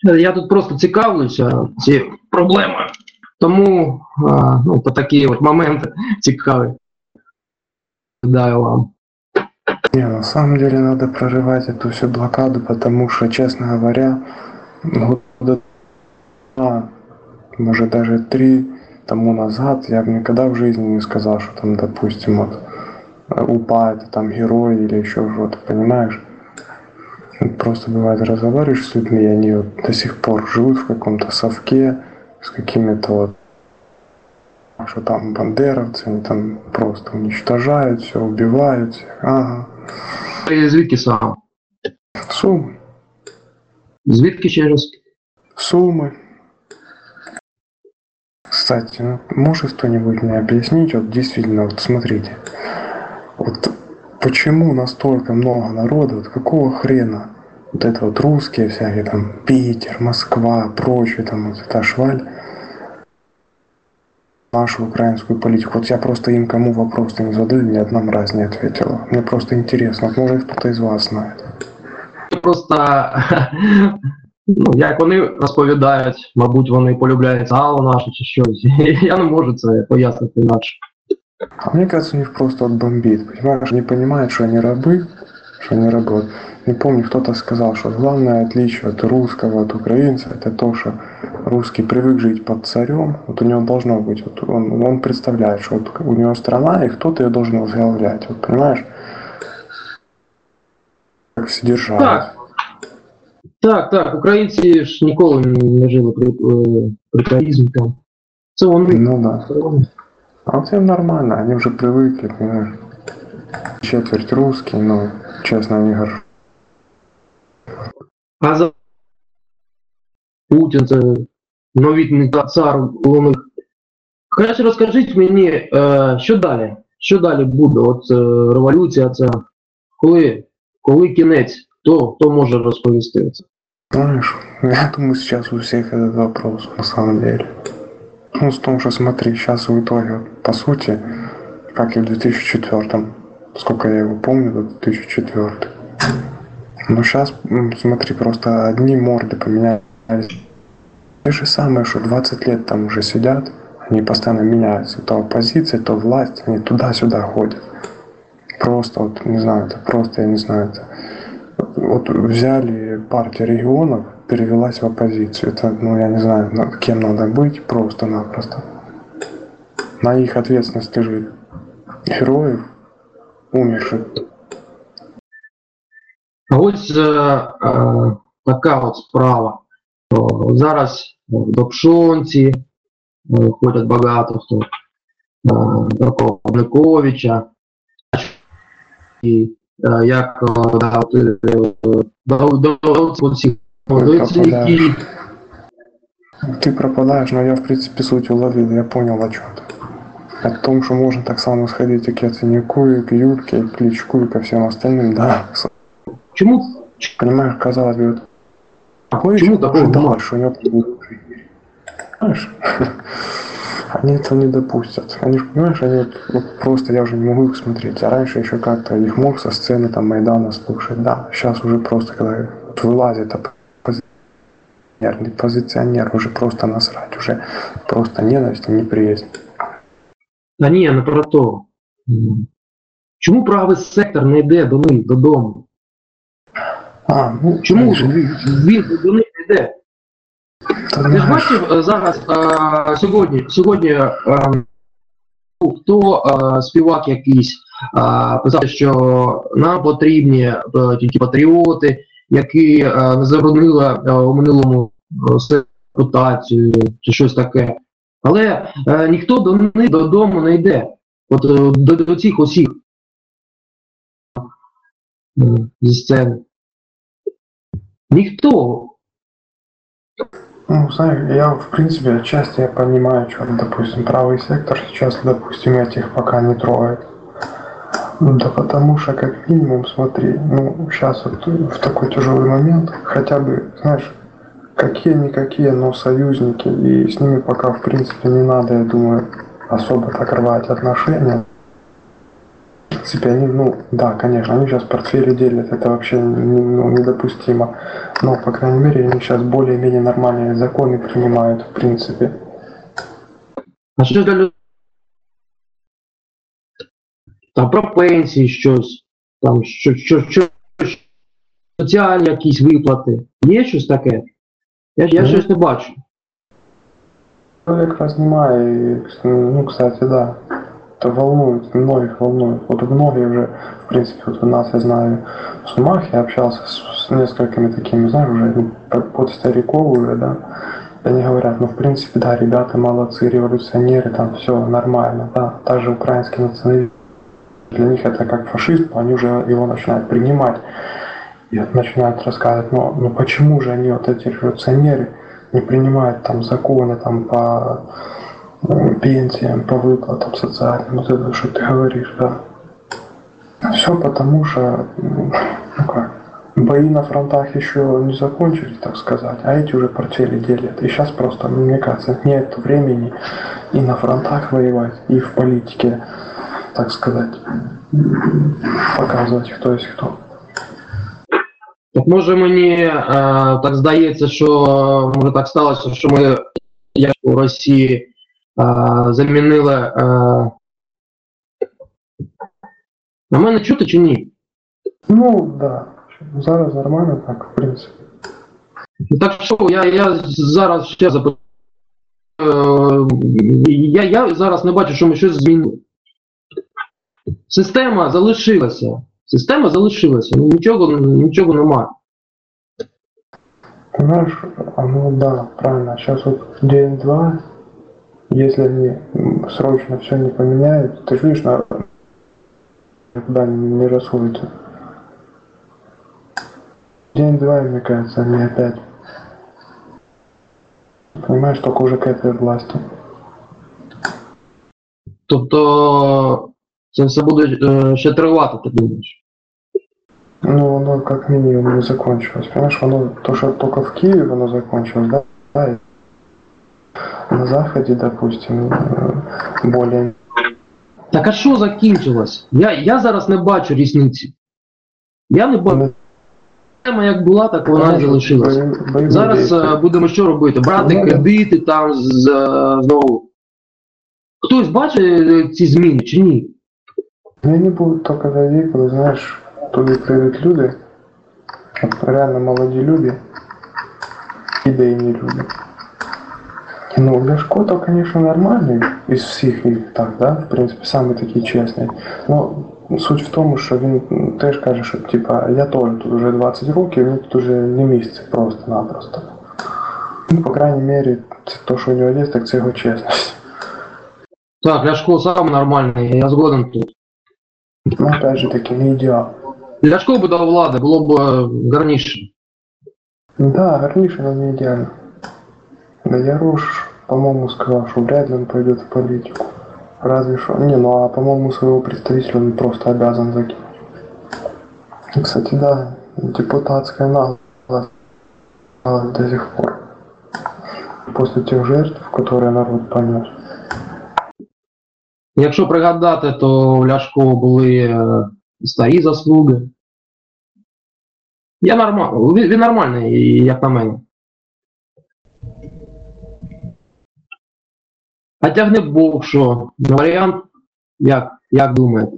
Я тут просто цікавлюся цією проблемою. Тому по такі от моменти цікаві. Даю вам. Не, на самом деле надо прорывать эту всю блокаду, потому что, честно говоря, года 2, может даже 3 тому назад я бы никогда в жизни не сказал, что там, допустим, вот УПА это там герой или еще что-то, понимаешь? Просто бывает разговариваешь с людьми, и они вот до сих пор живут в каком-то совке с какими-то вот, что там бандеровцы, они там просто уничтожают все, убивают всех. Ага. Звідки сам? Суммы. Звідки ще раз? Суммы. Кстати, ну, может кто-нибудь мне объяснить, вот действительно, вот смотрите, вот почему настолько много народу, вот какого хрена вот это вот русские всякие, там, Питер, Москва, прочее, там, вот эта шваль, нашу украинскую политику. Вот я просто им кому вопрос не задаю, ни одна мразь не ответила. Мне просто интересно, вот, может кто-то из вас знает. Просто, як вони розповідають, мабуть, вони полюбляють сало наше чи щось. Я не можу це пояснити інакше. А мне кажется, у них просто вот бомбит, понимаешь? Они понимают, что они рабы, что они рабы. Вот, не помню, кто-то сказал, что главное отличие от русского, от украинца, это то, что русский привык жить под царем, вот у него должно быть, вот он представляет, что вот у него страна, и кто-то ее должен возглавлять, вот понимаешь? Как все держали. Так, українці ж ніколи не жили при царизмі там. Це вони. Ну да. А вот им нормально, они уже привыкли, понимаешь? Четверть русские, но, честно, они горжу. А за Путін, це новітний цар у них. Краще розкажіть мені, що далі? Що далі буде? От революція ця. Коли кінець? Хто може розповісти це? Знаешь, я думаю, сейчас у всех этот вопрос, на самом деле. Ну, в том, что смотри, сейчас в итоге, по сути, как и в 2004, сколько я его помню, до 2004. Но сейчас, смотри, просто одни морды поменялись. Те же самые, что 20 лет там уже сидят, они постоянно меняются. То оппозиция, то власть, они туда-сюда ходят. Просто, вот, не знаю, это просто, я не знаю, это... Вот взяли партию регионов, перевелась в оппозицию. Это, ну, я не знаю, кем надо быть, просто-напросто. На их ответственность лежит героев, умерших. А ось така от справа. Зараз до Пшонці ходять багато хто. До Павликовича. І як Ты пропадаешь, но я в принципе суть уловил, я понял о чем ты. О том, что можно так само сходить и к Яценюку, и к Юльке, и к Кличку, и ко всем остальным, да. Чему? Понимаешь, казалось бы, Чему такого ожидал, что у него понимаешь? Они этого не допустят. Они, понимаешь, они вот просто, я уже не могу их смотреть. А раньше еще как-то их мог со сцены там Майдана слушать. Да, сейчас уже просто, когда вот вылазит позиционер, уже просто насрать, уже просто ненависть и неприязнь. Та ні, не про то. Чому правий сектор не йде до них додому? Чому він до них не йде? Ти ж бачив зараз, сьогодні хто співак якийсь писав, що нам потрібні тільки патріоти, які не заборонили у минулому репутацію чи щось таке. Але ніхто до них додому не йде. От до цих усіх зі сцени. Никто. Ну, знаешь, я, в принципе, отчасти я понимаю, что, допустим, правый сектор сейчас, допустим, этих пока не трогает. Да потому что, как минимум, смотри, ну, сейчас вот в такой тяжелый момент, хотя бы, знаешь, какие-никакие, но союзники, и с ними пока, в принципе, не надо, я думаю, особо так рвать отношения. В принципе, они, ну, да, конечно, они сейчас портфели делят, это вообще недопустимо. Но, по крайней мере, они сейчас более-менее нормальные законы принимают, в принципе. А що для людей? Там про пенсії щось, там соціальні якісь виплати. Є щось таке? Я щось не бачу. Человек разнимает, ну, кстати, да, это волнует, многих волнует. Вот многие уже, в принципе, вот у нас, я знаю, в Сумах, я общался с несколькими такими, знаешь, уже под стариков уже, да, и они говорят, ну, в принципе, да, ребята молодцы, революционеры, там все нормально, да, даже украинский национализм, для них это как фашизм, они уже его начинают принимать и начинают рассказывать, ну почему же они, вот эти революционеры, не принимают там законы там по пенсиям, по выплатам социальным, вот это, что ты говоришь, да. Все потому что, ну как, бои на фронтах еще не закончились, так сказать, а эти уже портфели делят. И сейчас просто, мне кажется, нет времени и на фронтах воевать, и в политике, так сказать, показывать, кто есть кто. Так може мені так здається, що може так сталося, що ми, як у Росії, замінили... А мене чути чи ні? Ну, да. Зараз нормально так, в принципі. Так що, я зараз ще запитаю. Я зараз не бачу, що ми щось змінили. Система залишилася. Ну, нічого немає. Понимаешь, ну да, правильно. Сейчас вот день-два, если они срочно все не поменяют, ты же видишь, никуда не расходятся. День-два, мне кажется, они опять, понимаешь, только уже к этой власти. Тобто це все буде ще тривати, ти думаєш? Ну, оно как минимум не закончилось. Понимаешь, оно, то, что только в Киеве оно закончилось, да? Да, на Заходе, допустим, более... Так а що закінчилось? Я зараз не бачу різниці. Я не бачу. Система як була, так вона і залишилася. Зараз будемо що робити? Брати кредити там знову. Хтось бачить ці зміни чи ні? Они будут только тоді, коли, знаєш, туди прийдуть люди, реально молоді люди, ідейні люди. Ну, Ляшко-то, конечно, нормальный из всех их, так, да, в принципе, самый такий честный. Но суть в тому, що він теж каже, що, типа, я теж тут уже 20 років, мені тут уже не місце просто-напросто. Ну, по крайней мере, то, що у нього є, так це його чесність. Так, Ляшко сам нормальний, я згоден тут. Ну, опять же таки, не ідеал. Ляшко би дав влади, було б гарніше. Да, гарніше, но не ідеально. Да Ярош, по-моему, сказал, что вряд ли он пойдет в политику. Разве что... Не, ну а по-моему, своего представителя он просто обязан закинуть. И, кстати, да, депутатская наглость до сих пор. После тех жертв, которые народ понес. Якщо пригадати, то в Ляшко були старі заслуги. Він нормальний, як на мене. А тягне Бог, що? Варіант, як думаєте?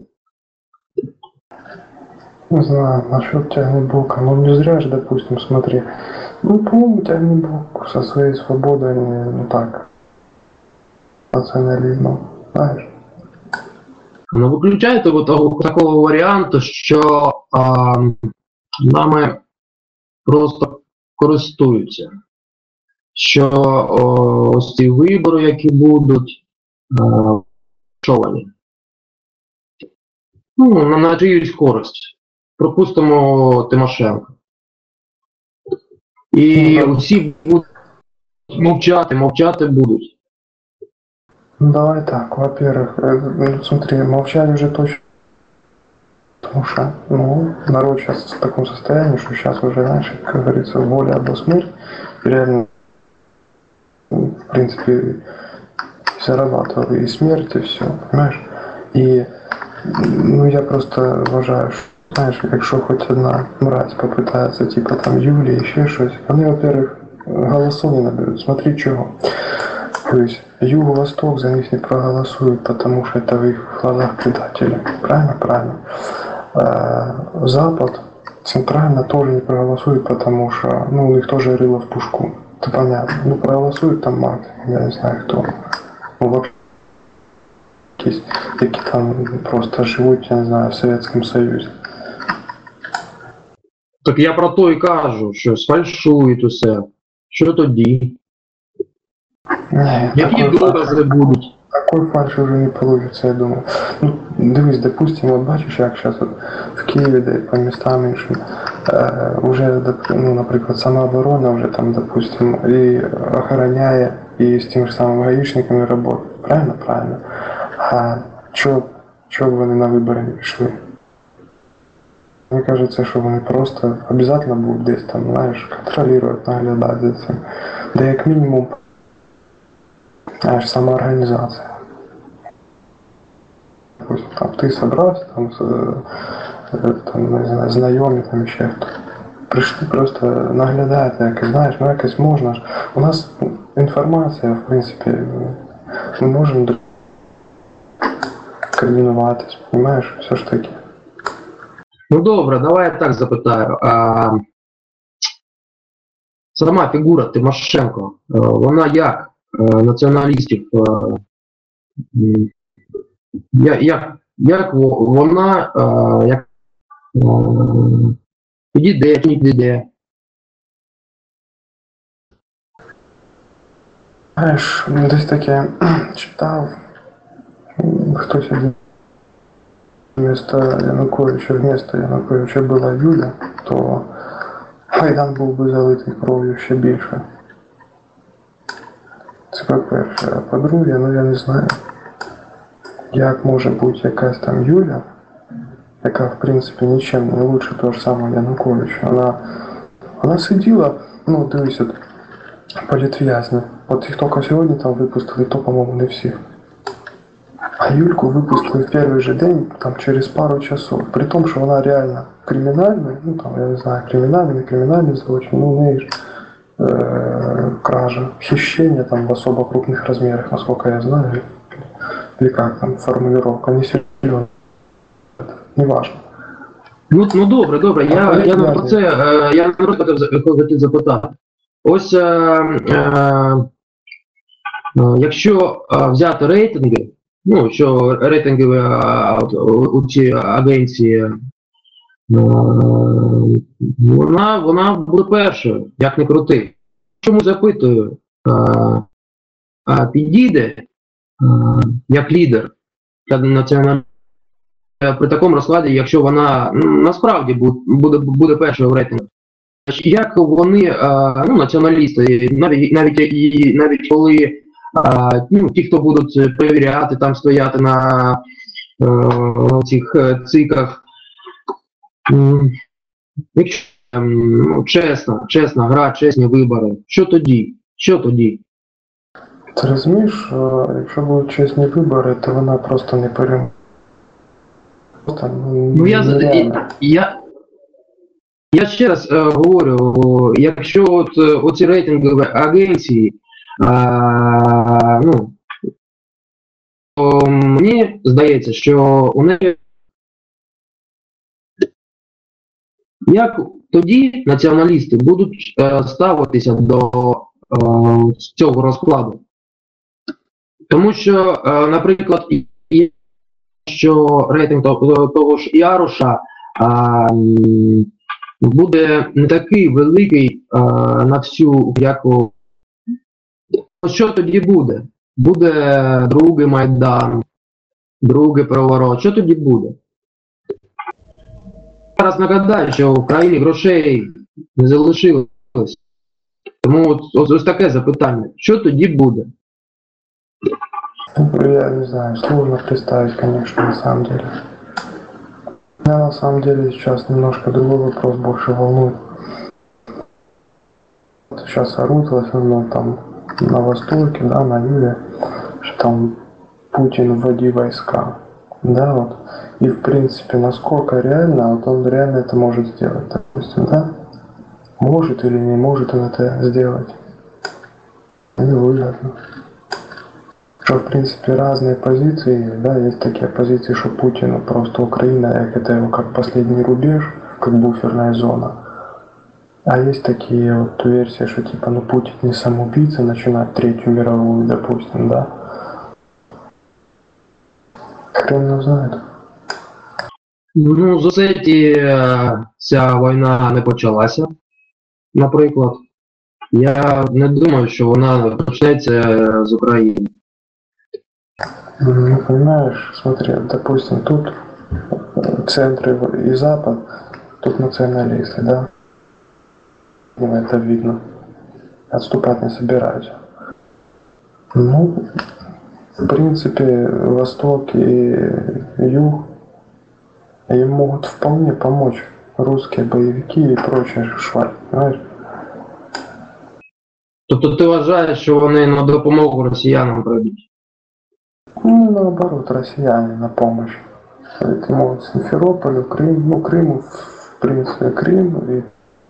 Не знаю, насчет Тягнебока. Ну не зря же, допустим, смотри. Ну, по-моему, Тягнебок со своей свободой, ну так, национализмом, знаешь. Ну, виключаєте такого варіанту, що нами просто користуються. Що ось ці вибори, які будуть, шовані. Ну, на чиюсь користь. Пропустимо Тимошенко. І усі будуть мовчати будуть. Ну, давай так, во-первых, смотри, молчать уже точно. Потому что, ну, народ сейчас в таком состоянии, что сейчас уже, знаешь, как говорится, воля або смерть. Реально, в принципе, зарабатывал и смерть, и все, понимаешь? И, ну, я просто уважаю, знаєш, якщо хоч одна мразь попитається, типа там Юлії, ще щось, вони, во-первых, голосу не наберуть. Смотри чего. То есть Юго-Восток за них не проголосует, потому что это в их глазах предатели. Правильно? Правильно. Запад центрально тоже не проголосует, потому что, ну, у них тоже рыло в пушку. Это понятно. Ну, проголосует там максимум, я не знаю кто. Ну, вообще есть такие там просто живут, я не знаю, в Советском Союзе. Так я про то і кажу, що сфальшують усе. Що тоді? Не, Які докази будуть? такой фальши уже не получится, я думаю. Ну, дивись, допустим, от бачиш, як зараз от в Києві, де по містам іншим, вже, ну, наприклад, самооборона вже там, допустим, і охороняє, і з тими ж самими гаїшниками працює. Правильно? Правильно. А чого б вони на вибори не пішли? Мені кажется, що вони просто обов'язково будуть десь там, знаєш, контролювати, наглядати за цим. Да як мінімум, знаєш, самоорганізація. Там ти собрався, там не знаю, знайомі, там ще хто. Прийшли просто наглядати, якось, знаєш, ну якось можна ж. У нас інформація, в принципі, ми можемо координуватись, розумієш, все ж таки. Ну добре, давай я так запитаю. Сама фігура Тимошенко, вона як націоналістів, як вона як підійде чи не підійде? Знаєш, десь таке читав, хтось один вместо Януковича була Юля, то Майдан був би залитий кров'ю ще більше. Це по-перше. А по-друге, ну я не знаю, як може бути якась там Юля, яка в принципі нічим не лучше того ж самого Януковича. Вона сиділа, ну дивись, от політв'язні. От їх тільки сьогодні там випустили, то, по-моєму, не всіх. А Юльку выпустили в первый же день, там, через пару часов. При том, что она реально криминальная, ну, там, я не знаю, криминальный злочин, ну, у нее кража, хищение, там, в особо крупных размерах, насколько я знаю, или как там, формулировка, не серьезно, неважно. Ну добре, я про це, я просто хотів запитати. Ось, якщо взяти рейтинги, ну, що рейтингові у ці агенції, вона буде першою, як не крути. Чому запитую, підійде як лідер національної при такому розкладі, якщо вона насправді буде першою в рейтингу? Як вони, ну, націоналісти, навіть коли ну, ті, хто будуть перевіряти, там стояти на цих циках, якщо ну, чесна гра, чесні вибори, що тоді? Ти розумієш, якщо будуть чесні вибори, то вона просто не переможе. Ну, я ще раз говорю, якщо от оці рейтингові агенції, ну, то мені здається, що у неї як тоді націоналісти будуть ставитися до цього розкладу. Тому що, наприклад, що рейтинг того ж Яруша буде не такий великий на всю, як у... Що тоді буде? Буде другий Майдан, другий переворот. Що тоді буде? Зараз нагадаю, що в країні грошей не залишилось. Тому ось таке запитання. Що тоді буде? Я не знаю, сложно представить, конечно, на самом деле. Меня на самом деле сейчас немножко другой вопрос больше волнует. Сейчас орут в основном там на Востоке, да, на юге, что там Путин вводи войска. Да, вот. И в принципе, насколько реально, вот он реально это может сделать, допустим, да? Может или не может он это сделать? Невыгодно. Что, в принципе, разные позиции, да, есть такие позиции, что Путину просто Украина, это его как последний рубеж, как буферная зона. А есть такие вот версии, что типа, ну Путин не самоубийца, начинать Третью мировую, допустим, да. Хрен его знает. Ну, за це ця війна не почалася, наприклад. Я не думаю, що вона почнеться з України. Ну, понимаешь, смотри, допустим, тут центр и запад, тут националисты, да. Это видно. Отступать не собираются. Ну, в принципе, Восток и Юг им могут вполне помочь русские боевики и прочая шваль, понимаешь? Тобто ти вважаєш, що вони на допомогу росіянам прийдуть? Ну, наоборот, россияне на помощь. Это могут Симферополю, Крым, ну, Крыму, в принципе, Крым и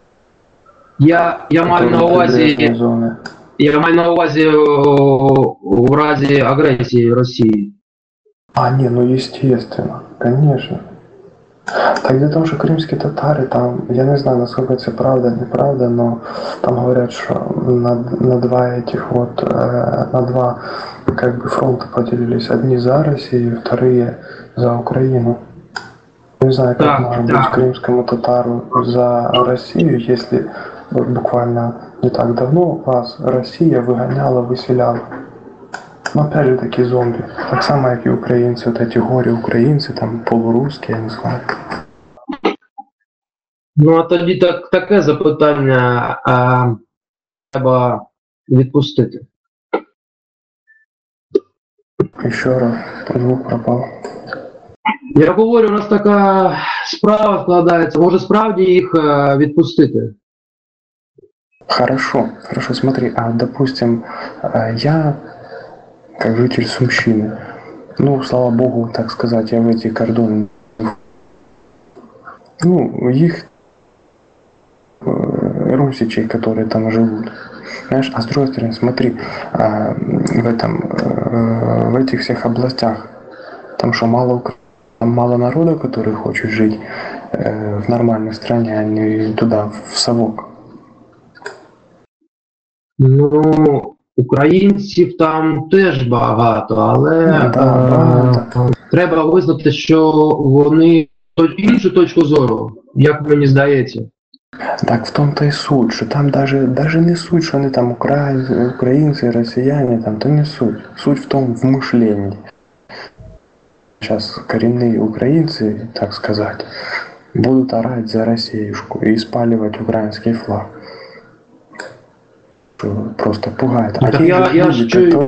Я маю на увазі, зоны. я маю на увазі в разі агресії Росії. А, не, ну естественно, конечно. Так дело в том, что крымские татары там, я не знаю, насколько это правда, неправда, но там говорят, что на два этих вот, на два как бы фронта поделились. Одни за Россию, вторые за Украину. Не знаю, как может быть крымскому татару за Россию, если вот буквально не так давно вас Россия выгоняла, выселяла. Но опять же таки зомби. Так само, как и украинцы, вот эти горе-украинцы, там полурусские, я не знаю. Ну, а тоді таке запитання треба відпустити. Еще раз, звук пропал. Я говорю, у нас така справа складається, може справді їх відпустити? Хорошо, смотри, а допустим, я, как житель Сумщины, ну, слава богу, так сказать, я в эти кордоны, ну, их русичей, которые там живут. Знаешь, а с другой стороны, смотри, в этих всех областях, там что, мало народа, который хочет жить в нормальной стране, а не туда, в совок. Ну, українців там теж багато, але багато. Треба визнати, що вони іншу точку зору, як мені здається. Так в том-то и суть, что там даже не суть, что они там украинцы, россияне, там, то не суть. Суть в том, в мышлении. Сейчас коренные украинцы, так сказать, будут орать за Россиюшку и спаливать украинский флаг. Просто пугает. А те люди, которые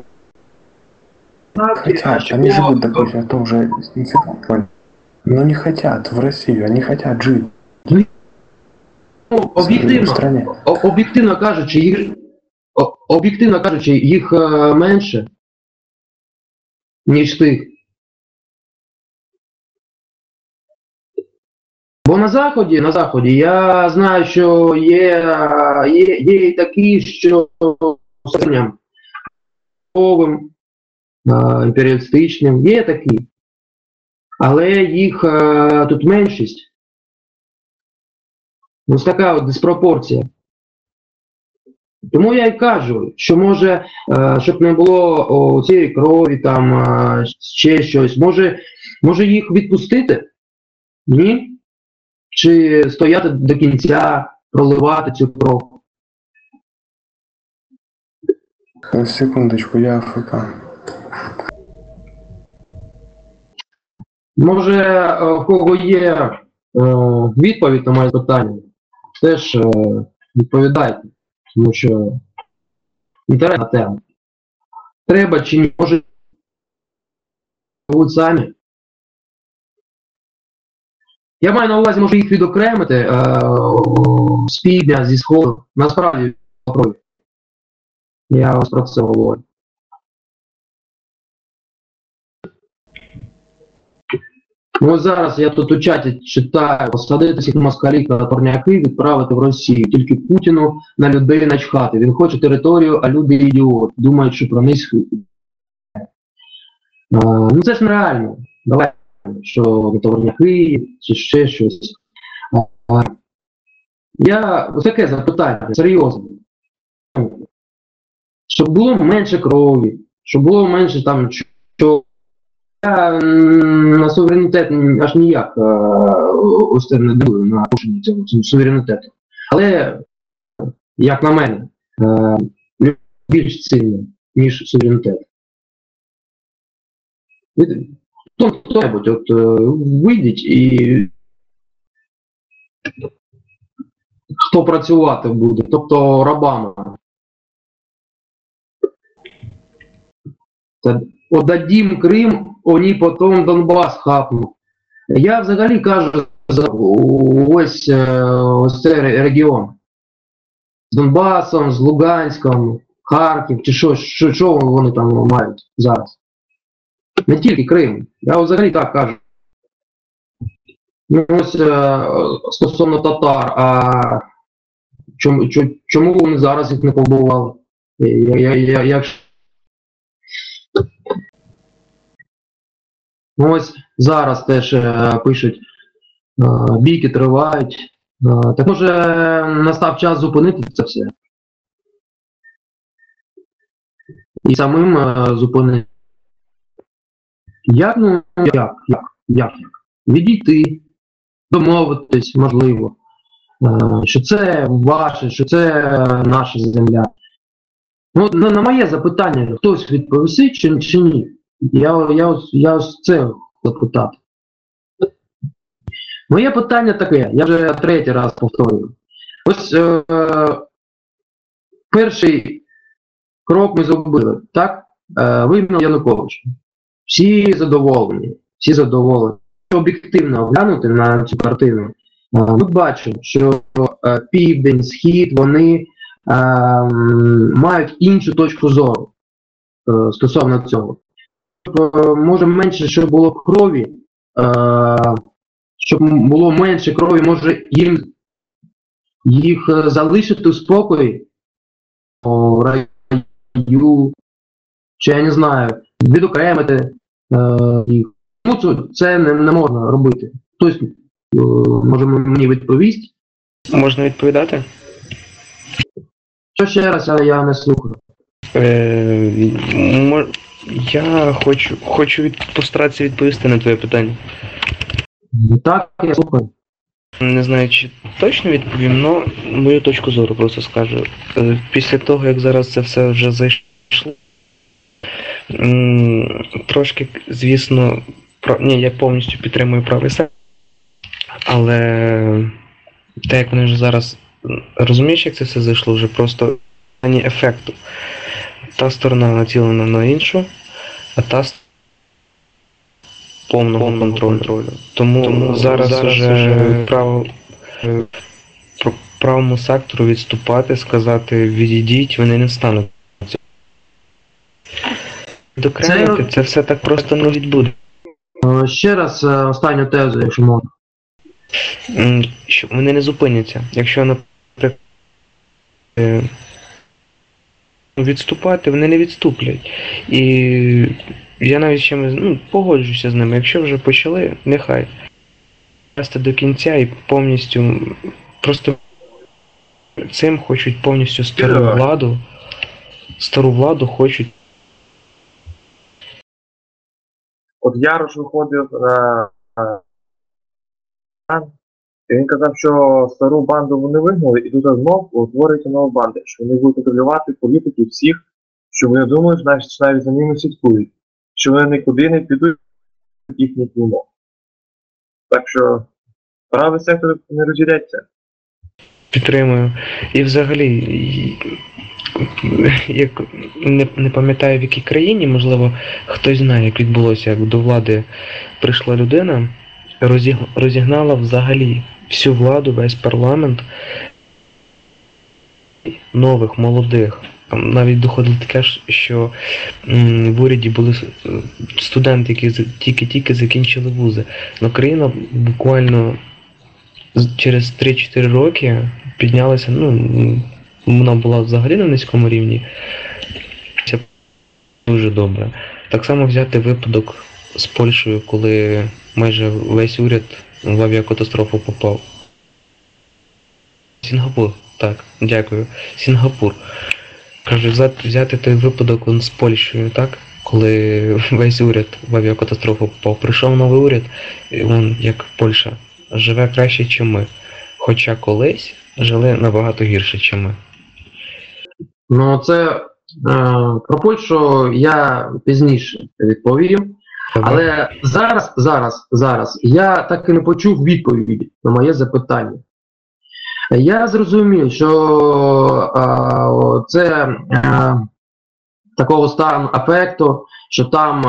хотят, они живут, допустим, в том же Симферополе, но не хотят в Россию, они хотят жить. Ну, об'єктивно кажучи, їх менше, ніж тих. Бо на Заході я знаю, що є і такі, що імперіалістичним, є такі. Але їх тут меншість. Ось така от диспропорція. Тому я й кажу, що може, щоб не було цієї крові, там, ще щось, може їх відпустити? Ні? Чи стояти до кінця, проливати цю кров? Секундочку, я АФК. Може, в кого є відповідь на моє питання, теж відповідайте, тому що інтересна тема. Треба чи ні, може будуть самі. Я маю на увазі, може їх відокремити з півдня, зі сходу. Насправді, я вас про це говорю. Ну, ось зараз я тут у чаті читаю: посадити всіх москалів на турняки, відправити в Росію. Тільки Путіну на людей начхати. Він хоче територію, а люди ідіот. Думають, що про них... Ну це ж нереально. Давай, що на турняки, чи ще щось. Ось таке запитання, серйозне. Щоб було менше крові, щоб було менше там, що я на суверенітет аж ніяк ось це не дивую на порушення цього суверенітету. Але, як на мене, більш цінно, ніж суверенітет. Хто-небудь от вийдіть і хто працювати буде, тобто рабами. Отдадим Крим, вони потім Донбас хапнуть. Я взагалі кажу за ось цей регіон. З Донбасом, з Луганськом, Харків, чи що вони там мають зараз. Не тільки Крим. Я взагалі так кажу. Ну, ось стосовно татар, а чому вони зараз їх не побували? Ось зараз теж пишуть, бійки тривають. Так може настав час зупинити це все? І самим зупинити. Як? Ну, як? Відійти, домовитись, можливо, що це ваше, що це наша земля. Ну, на моє запитання хтось відповісти чи ні? Я ось це запитати. Моє питання таке, я вже третій раз повторюю. Ось перший крок ми зробили, так? Вигнав Януковича. Всі задоволені. Об'єктивно оглянути на цю картину, ми бачимо, що південь, схід, вони мають іншу точку зору стосовно цього. Може менше, щоб було крові, щоб було менше крові, може їх залишити в спокої, раю, чи я не знаю, відокремити їх. Ну, це не можна робити. Хтось може мені відповість. Можна відповідати? Що ще раз, я не слухаю. Я хочу постаратися відповісти на твоє питання. Так, я слухаю. Не знаю, чи точно відповім, але мою точку зору просто скажу. Після того, як зараз це все вже зайшло, трошки, звісно, я повністю підтримую правий сектор, але те, як вони вже зараз розумієш, як це все зайшло, вже просто ані ефекту. Та сторона націлена на іншу, а та повного контролю. Тому зараз вже правому сектору відступати, сказати відійдіть, вони не встануть. Докремити, це все так просто не відбуде. Ще раз останню тезу, якщо можна. Вони не зупиняться. Якщо, наприклад, відступати, вони не відступлять. І я навіть ще погоджуюся з ними. Якщо вже почали, нехай. Вести до кінця і повністю, просто цим хочуть повністю стару владу хочуть. От Ярош виходив на і він казав, що стару банду вони вигнали, і тут знов утворюється нова банда, що вони будуть контролювати політики всіх, що вони думають, що навіть за ними слідкують, що вони нікуди не підуть їхніх умов. Так що правий сектор не розділяється. Підтримую. І взагалі, як не пам'ятаю в якій країні, можливо, хтось знає, як відбулося, як до влади прийшла людина, розігнала взагалі всю владу, весь парламент нових, молодих Там навіть доходило таке, що в уряді були студенти, які тільки-тільки закінчили вузи. Но країна буквально через 3-4 роки піднялася, вона була взагалі на низькому рівні. Це дуже добре. Так само взяти випадок з Польщею, коли майже весь уряд в авіакатастрофу попав. Сінгапур, так, дякую. Сінгапур. Кажу, взяти той випадок з Польщею, так? Коли весь уряд в авіакатастрофу попав. Прийшов новий уряд, і він, як Польща, живе краще, ніж ми. Хоча колись жили набагато гірше, ніж ми. Ну, це про Польщу я пізніше відповім. Але зараз я так і не почув відповіді на моє запитання. Я зрозумів, що це такого стану афекту, що там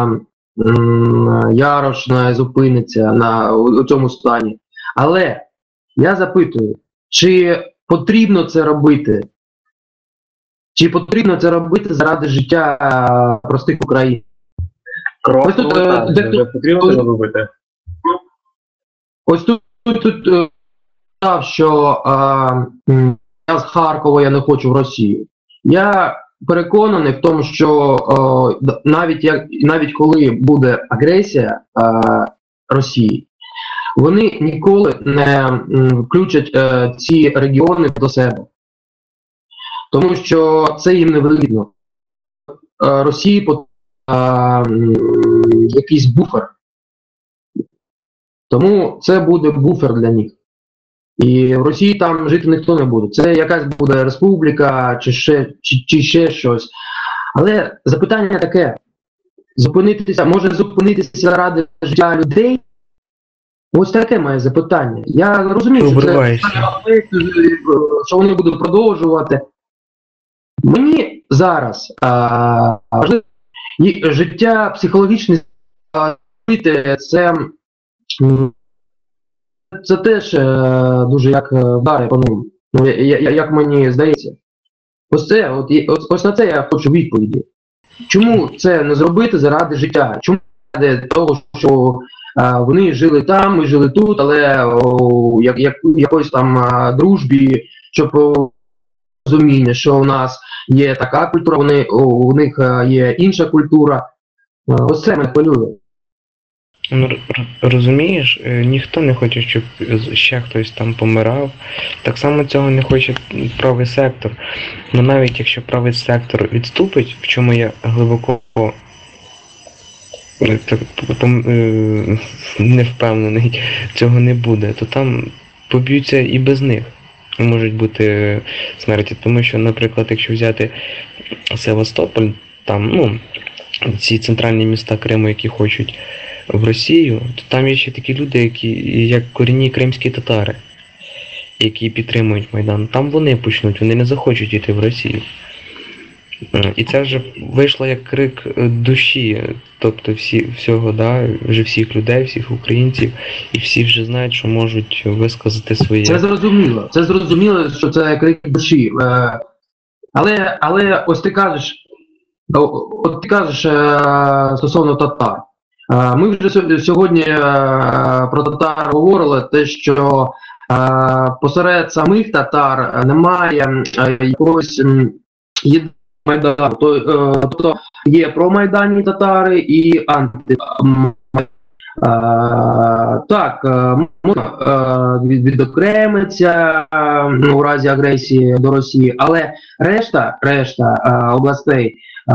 Ярош не зупиниться у цьому стані. Але я запитую, чи потрібно це робити? Чи потрібно це робити заради життя простих українців? Ось тут потрібно це робити. Ось тут сказав, що я з Харкова, я не хочу в Росію. Я переконаний в тому, що навіть коли буде агресія Росії, вони ніколи не включать ці регіони до себе. Тому що це їм не вигідно. Росії потрібен якийсь буфер. Тому це буде буфер для них. І в Росії там жити ніхто не буде. Це якась буде республіка чи ще щось. Але запитання таке. Може зупинитися ради життя людей? Ось таке моє запитання. Я розумію, що вони будуть продовжувати. Мені зараз важливо життя психологічне це теж дуже як вдари по ним, як мені здається. Ось на це я хочу відповіді. Чому це не зробити заради життя? Чому заради того, що вони жили там, ми жили тут, але якоїсь там дружбі, щоб розуміння, що у нас є така культура, у них є інша культура. Ось це мене хвилює. Розумієш, ніхто не хоче, щоб ще хтось там помирав. Так само цього не хоче правий сектор. Ну навіть якщо правий сектор відступить, в чому я глибоко не впевнений, цього не буде, то там поб'ються і без них. Можуть бути смерті. Тому що, наприклад, якщо взяти Севастополь, там, ці центральні міста Криму, які хочуть в Росію, то там є ще такі люди, які як корінні кримські татари, які підтримують Майдан. Там вони почнуть, вони не захочуть йти в Росію. І це вже вийшло як крик душі, тобто всього, вже всіх людей, всіх українців, і всі вже знають, що можуть висказати своє. Це зрозуміло, що це крик душі. Але ось ти кажеш стосовно татар. Ми вже сьогодні про татар говорили, те, що посеред самих татар немає якогось Майдану. Тобто є промайданні татари і так, можна відокремитися у разі агресії до Росії, але решта областей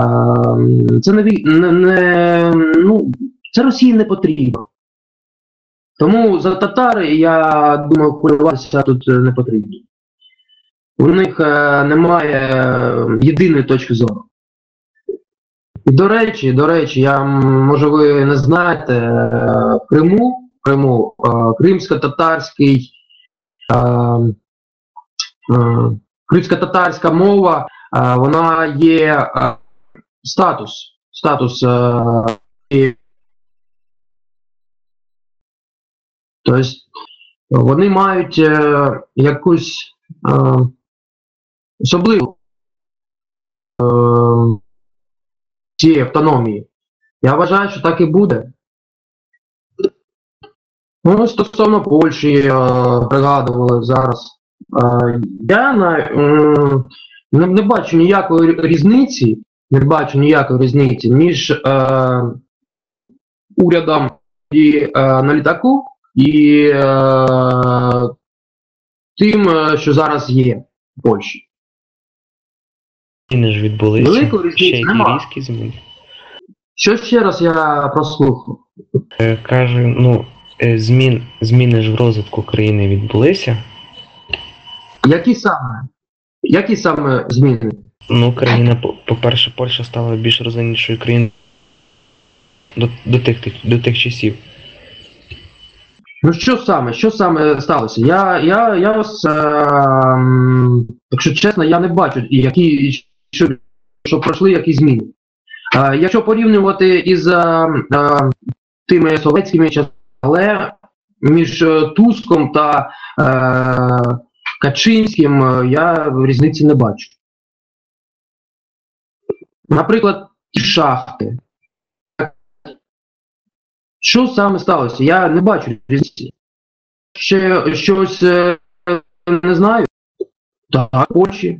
це Росії не потрібно. Тому за татари, я думаю, хвилюватися тут не потрібно. У них немає єдиної точки зору. І до речі, може ви не знаєте, в Криму кримсько-татарська мова, вона є статус. Тобто вони мають якусь особливу цієї автономії. Я вважаю, що так і буде. Ну, стосовно Польщі, пригадували зараз. Я не бачу ніякої різниці між урядом на літаку і тим, що зараз є в Польщі. Зміни ж відбулися. Великої різниці Ще які нема. різкі зміни. Що ще раз я прослухав? Кажу, зміни ж в розвитку країни відбулися. Які саме зміни? Ну, країна, по-перше, Польща стала більш розвиненішою країною до тих часів. Ну що саме сталося? Я вас, якщо чесно, я не бачу, що пройшли які зміни. Якщо порівнювати із тими совєтськими часами, але між Туском та Качинським я різниці не бачу. Наприклад, шахти. Що саме сталося? Я не бачу різниці. Ще щось не знаю. Так, Польщі.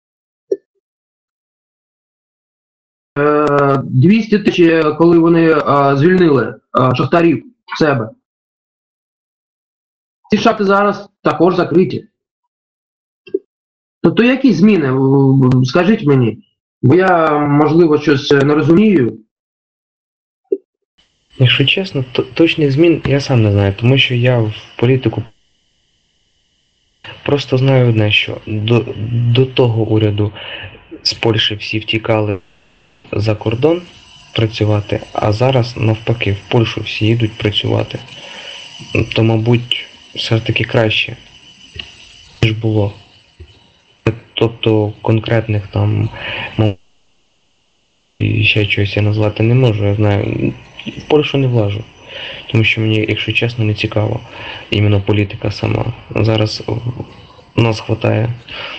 200 тисяч, коли вони звільнили шахтарів в себе. Ці шахти зараз також закриті. Тобто які зміни? Скажіть мені. Бо я, можливо, щось не розумію. Якщо чесно, точних змін я сам не знаю, тому що я в політику просто знаю одне, що до того уряду з Польщі всі втікали за кордон працювати, а зараз навпаки в Польщу всі їдуть працювати. То, мабуть, все ж таки краще, ніж було. Тобто конкретних там і ще чогось я назвати не можу, я знаю. В Польщу не влажу, тому що мені, якщо чесно, не цікаво іменно політика сама. Зараз у нас вистачає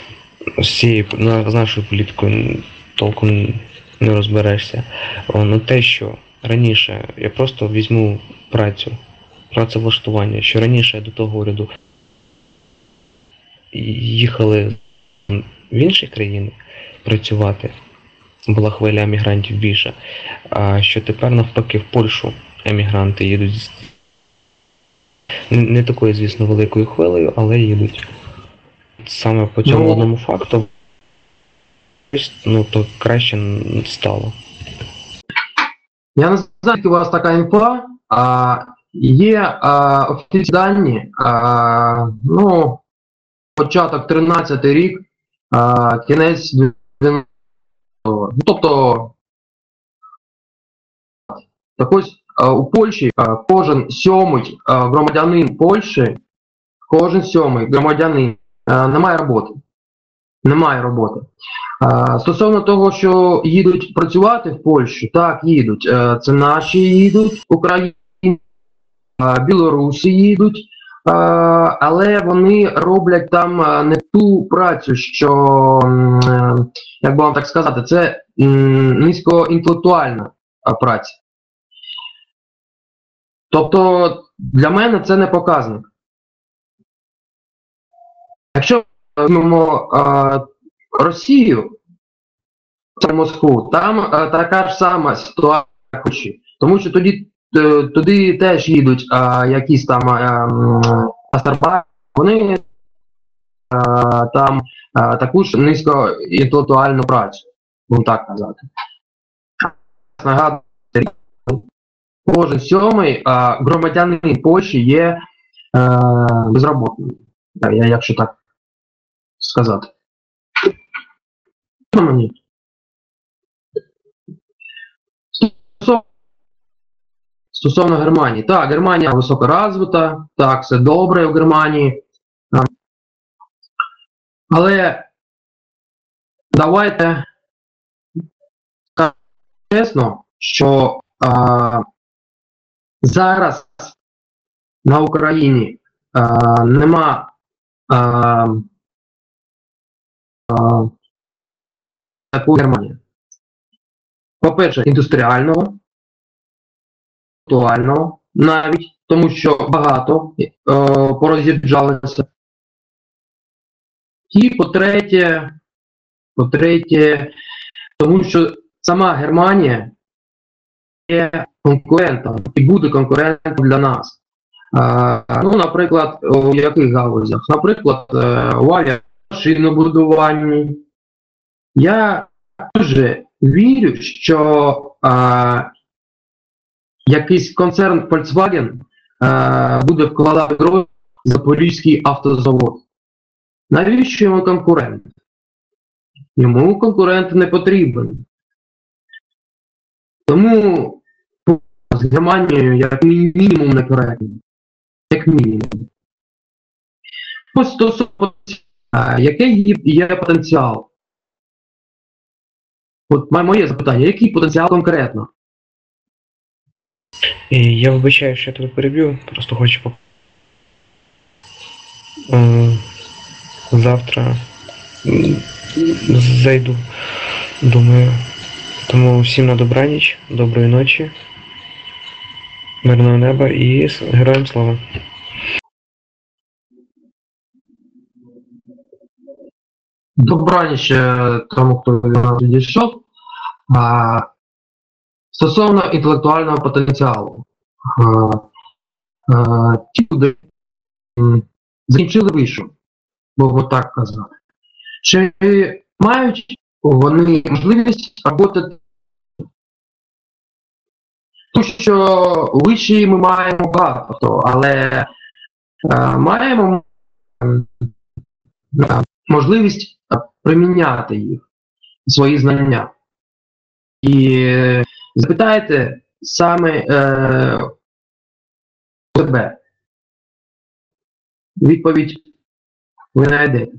з нашою політикою толком не розберешся. Ну те, що раніше я просто візьму працевлаштування, що раніше до того уряду їхали в інші країни працювати, була хвиля емігрантів більше, а що тепер навпаки в Польщу емігранти їдуть не такою, звісно, великою хвилею, але їдуть. Саме по цьому одному факту, то краще стало. Я не знаю, у вас така інфа, є офіційні дані, початок 13-й рік, кінець 12-го. Тобто, так ось у Польщі кожен сьомий громадянин Польщі, немає роботи. Стосовно того, що їдуть працювати в Польщу, так, їдуть. Це наші їдуть, Україні, білоруси їдуть, але вони роблять там не ту працю, що, як би вам так сказати, це низькоінтелектуальна праця. Тобто для мене це не показник. Якщо візьмемо Росію, Москву, там така ж сама ситуація, тому що туди теж їдуть якісь там астарбайтери, вони там таку ж низькоінтелектуальну працю, будемо так казати. Нагадую, кожен сьомий громадянин Польщі є безробітним, якщо так сказати. Стосовно Германії. Так, Германія високорозвита, так, все добре в Германії. Але давайте скажемо чесно, що зараз на Україні нема такої Германії. по-перше, індустріального, інтелектуального навіть, тому що багато пороз'їжджалися. І по-третє, тому що сама Германія є конкурентом і буде конкурентом для нас. Ну, наприклад, у яких галузях? Наприклад, у авіамашинобудуванні. Я дуже вірю, що якийсь концерн Volkswagen буде вкладати гроші в Запорізький автозавод. Навіщо йому конкурент? Йому конкурент не потрібен. Тому з Германією як мінімум некоректно. Як мінімум. Ось стосовно, який є потенціал? От моє запитання, який потенціал конкретно? Я вибачаю, що я тебе переб'ю, просто хочу завтра зайду, думаю. Тому всім на добраніч, доброї ночі, мирного неба і героям слава. Добраніч тому, хто від нас відійшов. Стосовно інтелектуального потенціалу. Ті люди закінчили вишу, будемо так казати. Чи мають вони можливість роботи? Тому що виші ми маємо багато, але маємо можливість приміняти їх, свої знання. І запитайте саме себе. Відповідь ви знайдете.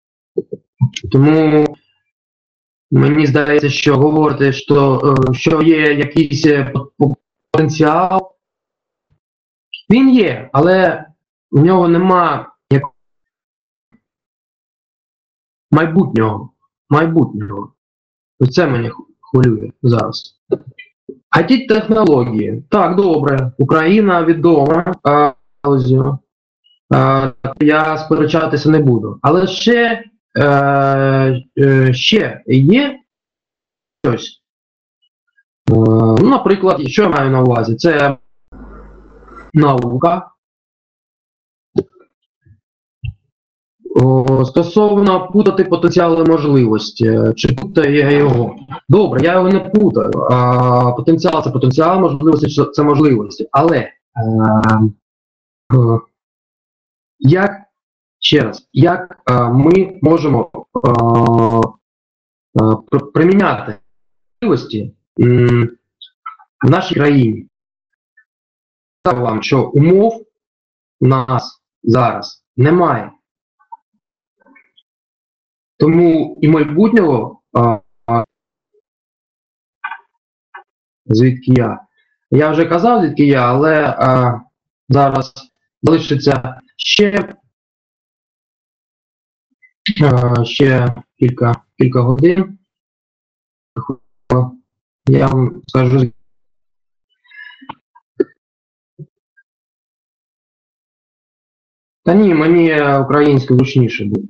Тому мені здається, що говорити, що є якийсь потенціал, він є, але в нього нема майбутнього. Це мене хвилює зараз. IT-технології. Так, добре. Україна відома галузю. Я сперечатися не буду. Але ще є щось. Наприклад, що я маю на увазі? Це наука. Стосовно путати потенціал і можливості. Чи путаю я його? Добре, я його не путаю. Потенціал – це потенціал, можливості – це можливості. Але як ми можемо приміняти можливості в нашій країні? Скажу вам, що умов у нас зараз немає. Тому і майбутнього, звідки я. Я вже казав, звідки я, але зараз залишиться ще кілька годин. Я вам скажу. Та ні, мені українською зручніше буде.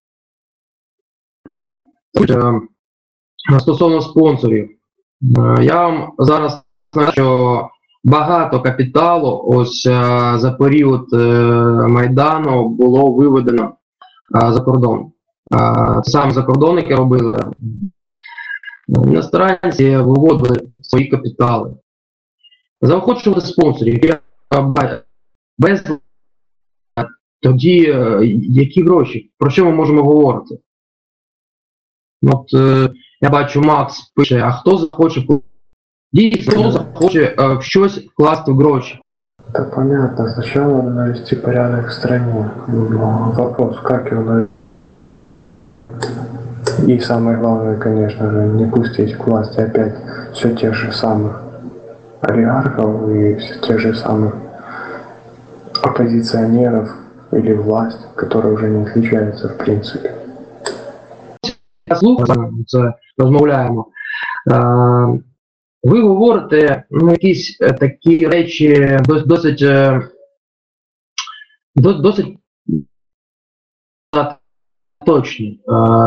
Стосовно спонсорів, я вам зараз скажу, що багато капіталу ось за період Майдану було виведено за кордон. Саме за кордон, які робили, іностранці виводили свої капітали. Заохочувати спонсорів, без тоді які гроші, про що ми можемо говорити? От я бачу, Макс пише, а хто захоче дійсно, хто захоче в щось вкласти в гроші? Да понятно, сначала надо навести порядок в стране. Вопрос, как его навести? И самое главное, конечно же, не пустить к власти опять все тех же самых олигархов и все тех же самых оппозиционеров или власть, которая уже не отличается в принципе. Я слухаю, це розмовляємо. ви говорите якісь такі речі досить точні,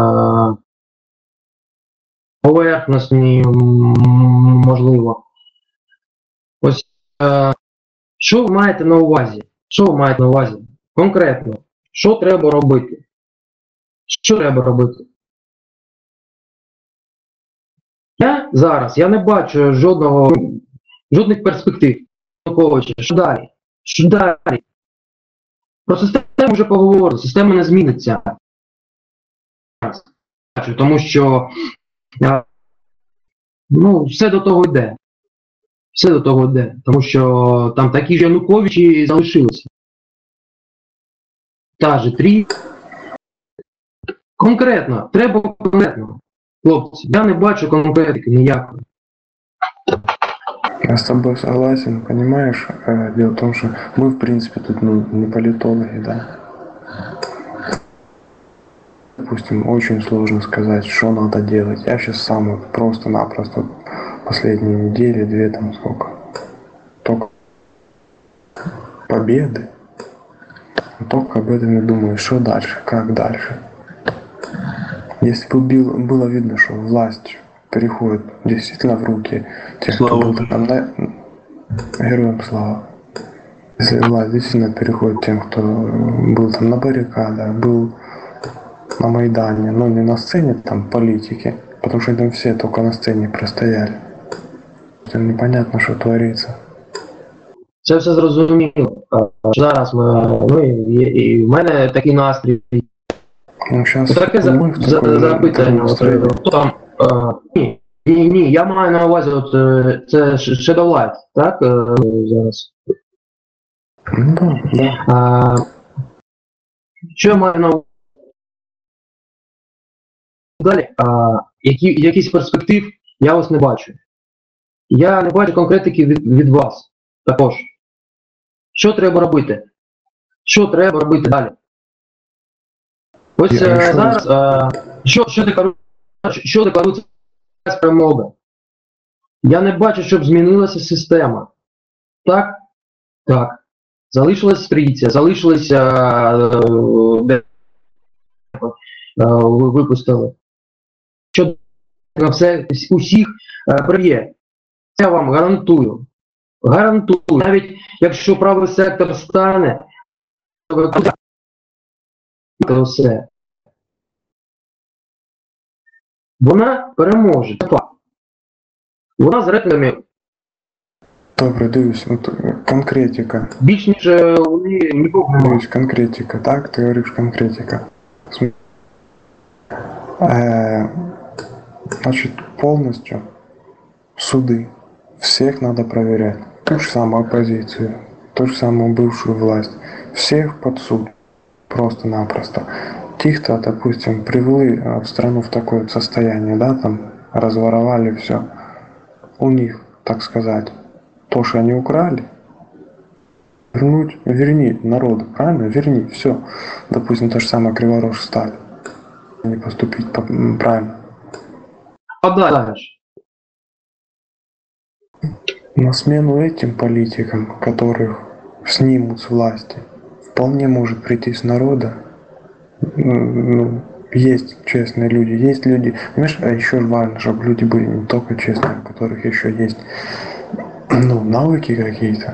поверхностні, можливо. Ось, що ви маєте на увазі? Що ви маєте на увазі? Конкретно, що треба робити? Що треба робити? Я зараз не бачу жодних перспектив. Що далі? Що далі? Про систему вже поговорили, система не зміниться. Тому що все до того йде. Все до того йде. Тому що там такі ж Януковичі залишилися. Та же конкретно, треба конкретно. Хлопці, я не бачу конкретики ніякої. Я с тобой согласен, понимаешь? Дело в том, что мы, в принципе, тут не политологи, да. Допустим, очень сложно сказать, что надо делать. Я сейчас сам вот просто-напросто последние недели, 2 там сколько, только победы. Только об этом и думаю, что дальше, как дальше. Если бы было видно, что власть переходит действительно в руки тех, кто был там героям слава. Если власть действительно переходит тем, кто был там на баррикадах, был на Майдане, но не на сцене там политики, потому что там все только на сцене простояли. Это непонятно, что творится. Це все зрозуміло. Зараз і в мене такий настрій. Таке запитання. Ні, я маю на увазі, це Shadow Light, так? Зараз. Да. Що я маю на увазі? Далі, якісь перспектив я ось не бачу. Я не бачу конкретики від вас також. Що треба робити? Що треба робити далі? Ось зараз, що декларується перемога? Я не бачу, щоб змінилася система. Так? Так. Залишилась стрійця, залишилися випустили. Що усіх приб'є. Це я вам гарантую. Гарантую. Навіть якщо правий сектор стане, то все. Вона переможе. Вона з рейтингами. Добре, дивись, конкретика. Більш ніж вони нікого не мають. Конкретика, так? Ти говориш конкретика. Значит, полностью суды. Всех надо проверять. Ту же самую оппозицию, ту же самую бывшую власть. Всех под суд. Просто-напросто. Тех-то, допустим, привели страну в такое состояние, да, там, разворовали все. У них, так сказать, то, что они украли, верни народу, правильно? Верни, все. Допустим, то же самое Криворож стали. Не поступить правильно. Подальше. На смену этим политикам, которых снимут с власти, вполне может прийти с народа. Есть честные люди, есть люди. Понимаешь, а еще важно, чтобы люди были не только честные, у которых еще есть навыки какие-то.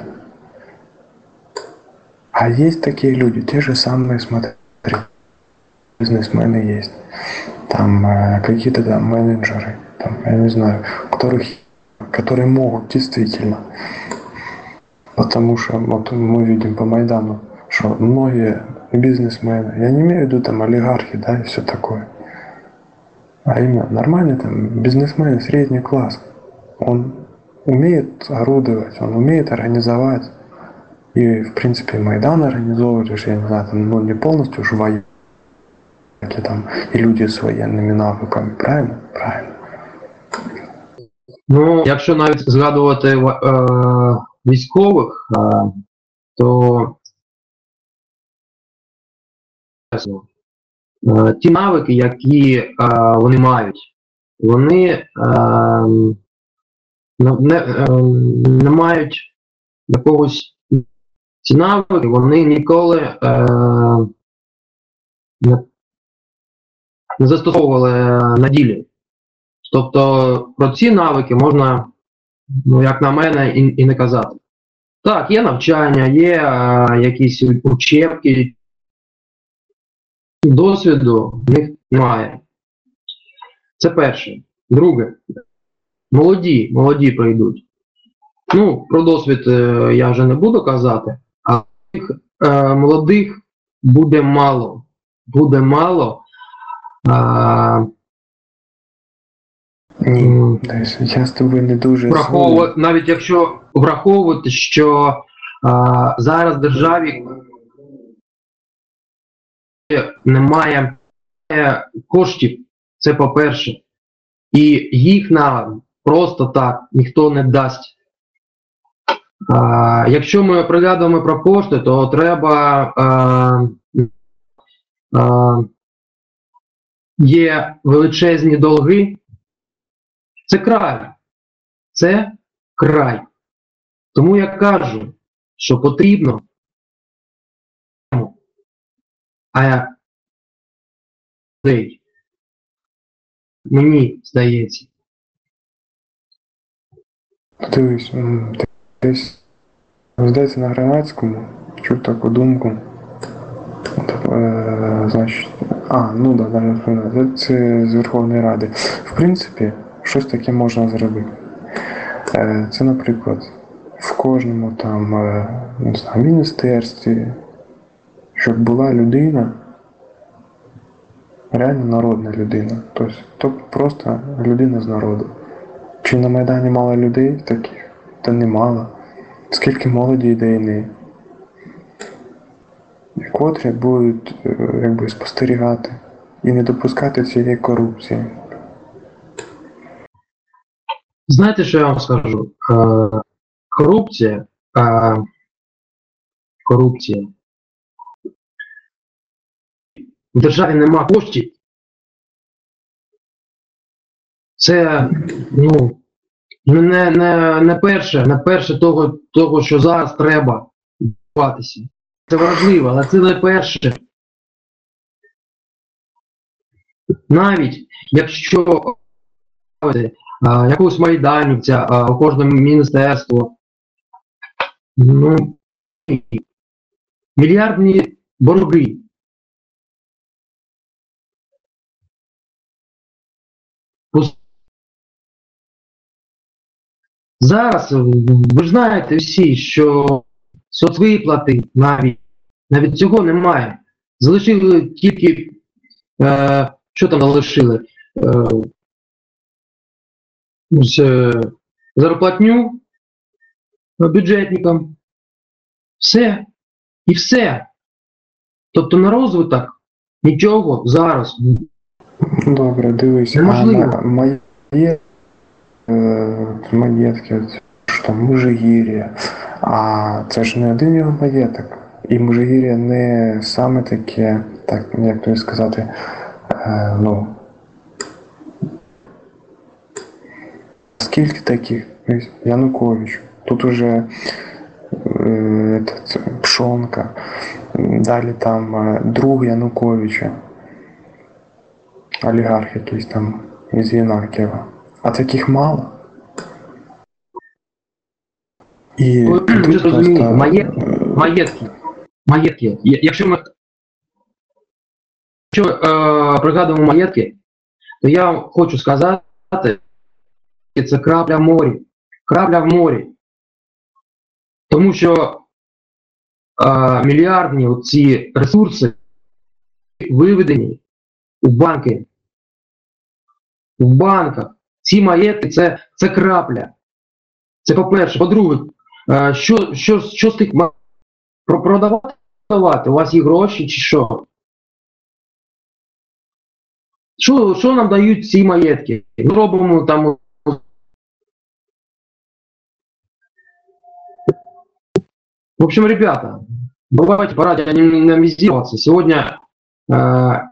А есть такие люди, те же самые, смотри, бизнесмены есть. Там какие-то там менеджеры, там, я не знаю, которые могут действительно. Потому что вот мы видим по Майдану, что многие бизнесмены, я не имею в виду там олигархи, да, и все такое, а именно нормальный там бизнесмен, средний класс, он умеет орудовать, он умеет организовать, и в принципе Майдан организовывает, я не знаю, там, не полностью уж военные там, и люди с военными навыками, правильно? Правильно. Якщо навіть згадувати військових, то ті навики, які вони мають, вони не мають якогось ці навики, вони ніколи не застосовували на ділі. Тобто про ці навики можна, ну, як на мене, і не казати. Так, є навчання, є якісь учебки, досвіду в них немає. Це перше. Друге. Молоді прийдуть. Ну, про досвід я вже не буду казати, а молодих буде мало. Буде мало. Ні, я з тобою не дуже навіть якщо враховувати, що зараз в державі немає коштів, це по-перше, і їх нам просто так ніхто не дасть. Якщо ми пригадуємо про кошти, то треба є величезні долги. Це край. Це край. Тому я кажу, що потрібно, мені здається. Дивись, десь, здається, на Громадському чув таку думку. Значить, ну да, це з Верховної Ради. В принципі, щось таке можна зробити. Це, наприклад, в кожному там, не знаю, міністерстві, щоб була людина, реально народна людина. Тобто просто людина з народу. Чи на Майдані мало людей таких? Та немало. Скільки молоді ідейні, котрі будуть якби спостерігати і не допускати цієї корупції. Знаєте, що я вам скажу? Корупція. В державі нема коштів. Це, ну, не перше того, що зараз треба відбуватися. Це важливо, але це не перше. Навіть якщо якогось майданівця у кожному міністерству, ну, мільярдні борги. Зараз, ви ж знаєте всі, що соцвиплати навіть цього немає. Залишили тільки, що там залишили? Зарплатню бюджетникам. Все. І все. Тобто на розвиток нічого зараз. Добре, дивись, неможливо. Маєтки, що там Межигір'я, а це ж не один його маєток. І Межигір'я не саме таке, так, як тобі сказати, ну, скільки таких? Янукович, тут уже Пшонка, далі там друг Януковича, олігарх якийсь там із Єнакієва. А таких мало. І ви зрозумієте, маєтки. Якщо ми пригадуємо маєтки, то я вам хочу сказати, це крапля в морі. Крапля в морі. Тому що мільярдні ці ресурси виведені у банки. В банках. Ці маєтки це крапля. Це по-перше. По-друге, що з тих продавати? У вас є гроші чи що? Що нам дають ці маєтки? Ми робимо там. В общем, ребята, давайте пора анимизироваться. Сегодня на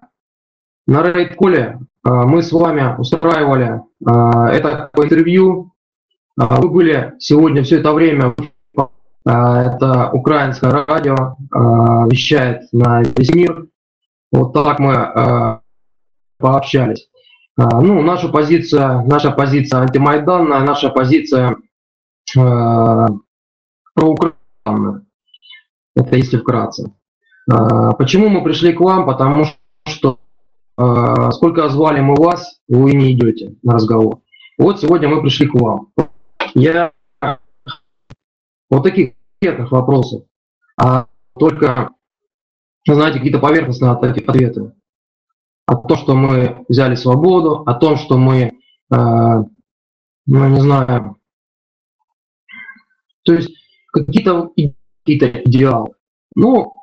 Рейд-коле мы с вами устраивали это интервью Вы были сегодня все это время, это украинское радио, вещает на весь мир. Вот так мы пообщались. Ну, наша позиция антимайданная, наша позиция проукраинная. Это если вкратце. Почему мы пришли к вам? Потому что сколько звали мы вас, вы не идете на разговор. Вот сегодня мы пришли к вам. Я вот таких конкретных вопросов, а только, знаете, какие-то поверхностные ответы. О том, что мы взяли свободу, о том, что мы, ну, не знаю, то есть какие-то идеалы. Ну,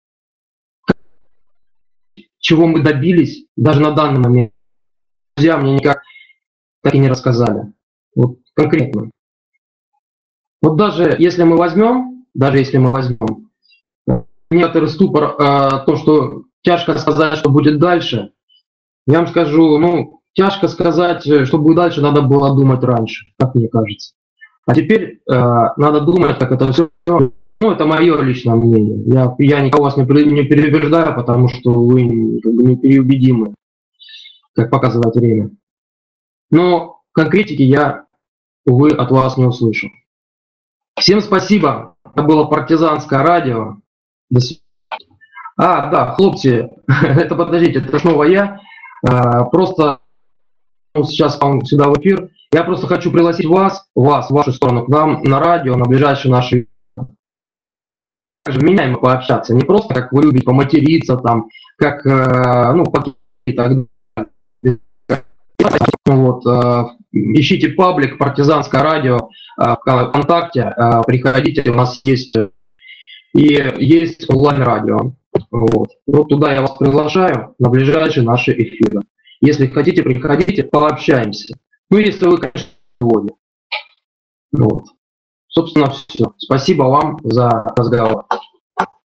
чего мы добились, даже на данный момент, друзья мне никак так и не рассказали. Вот конкретно. Вот даже если мы возьмем, некоторый ступор о том, что тяжко сказать, что будет дальше, я вам скажу, ну, тяжко сказать, что будет дальше, надо было думать раньше, как мне кажется. А теперь надо думать, как это все. Ну, это мое личное мнение. Я никого вас не переубеждаю, потому что вы непереубедимы, как показывает время. Но конкретики я, увы, от вас не услышал. Всем спасибо. Это было партизанское радио. До свидания. Да, хлопцы, это подождите, это снова я. Просто сейчас вам сюда в эфир. Я просто хочу пригласить вас, в вашу сторону, к нам на радио, на ближайшие наши... Вменяемо пообщаться. Не просто, как вы любите, поматериться, там, как, ну, и так далее. Вот, ищите паблик «Партизанское радио» ВКонтакте, приходите, у нас есть онлайн-радио. Вот туда я вас приглашаю на ближайшие наши эфиры. Если хотите, приходите, пообщаемся. Ну, если вы, конечно, сегодня. Вот. Собственно, все. Спасибо вам за разговор.